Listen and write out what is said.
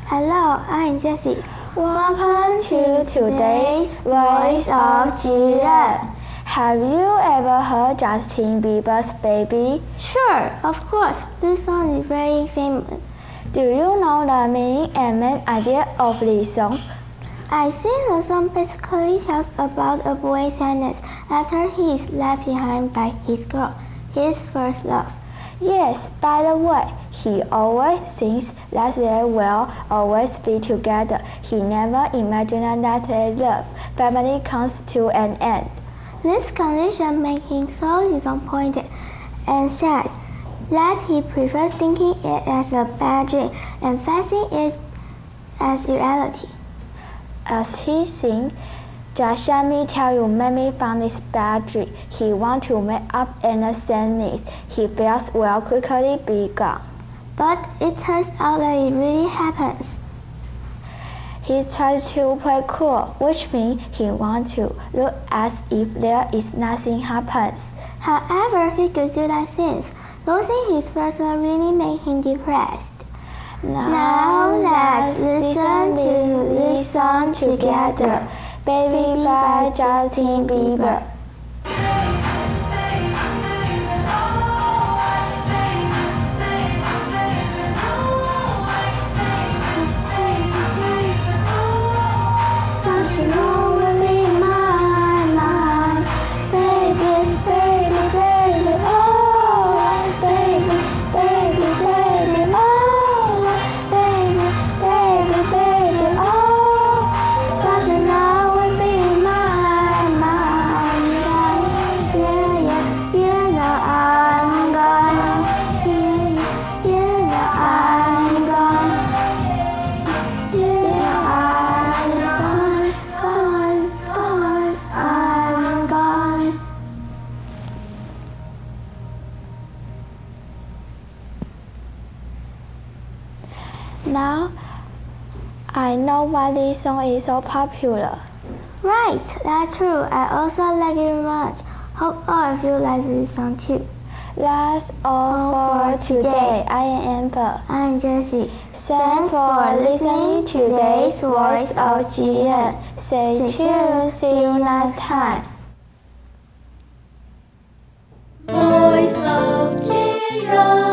Hello, I'm Jessie. Welcome to today's Voice of Jiren. Have you ever heard Justin Bieber's Baby? Sure, of course. This song is very famous. Do you know the meaning and main idea of this song? I think the song basically tells about a boy's sadness after he is left behind by his girl, his first love. Yes, by the way, he always thinks that they will always be together. He never imagined that their love family comes to an end. This condition makes him so disappointed and sad that he prefers thinking it as a bad dream and facing it as reality. As he sings, "Just let me tell you, made me from this bad dream." He wants to make up and the sadness he feels will quickly be gone. But it turns out that it really happens. He tries to play cool, which means he wants to look as if there is nothing happens. However, he could do that since losing his first love really made him depressed. Now let's listen to this song together. Baby by Justin Bieber. Now, I know why this song is so popular. Right, that's true. I also like it very much. Hope all of you like this song too. That's all for today. I am Amber. I'm Jessie. Thanks for listening to today's Voice of Jiren. Stay tuned. See you next time. Voice of Jiren.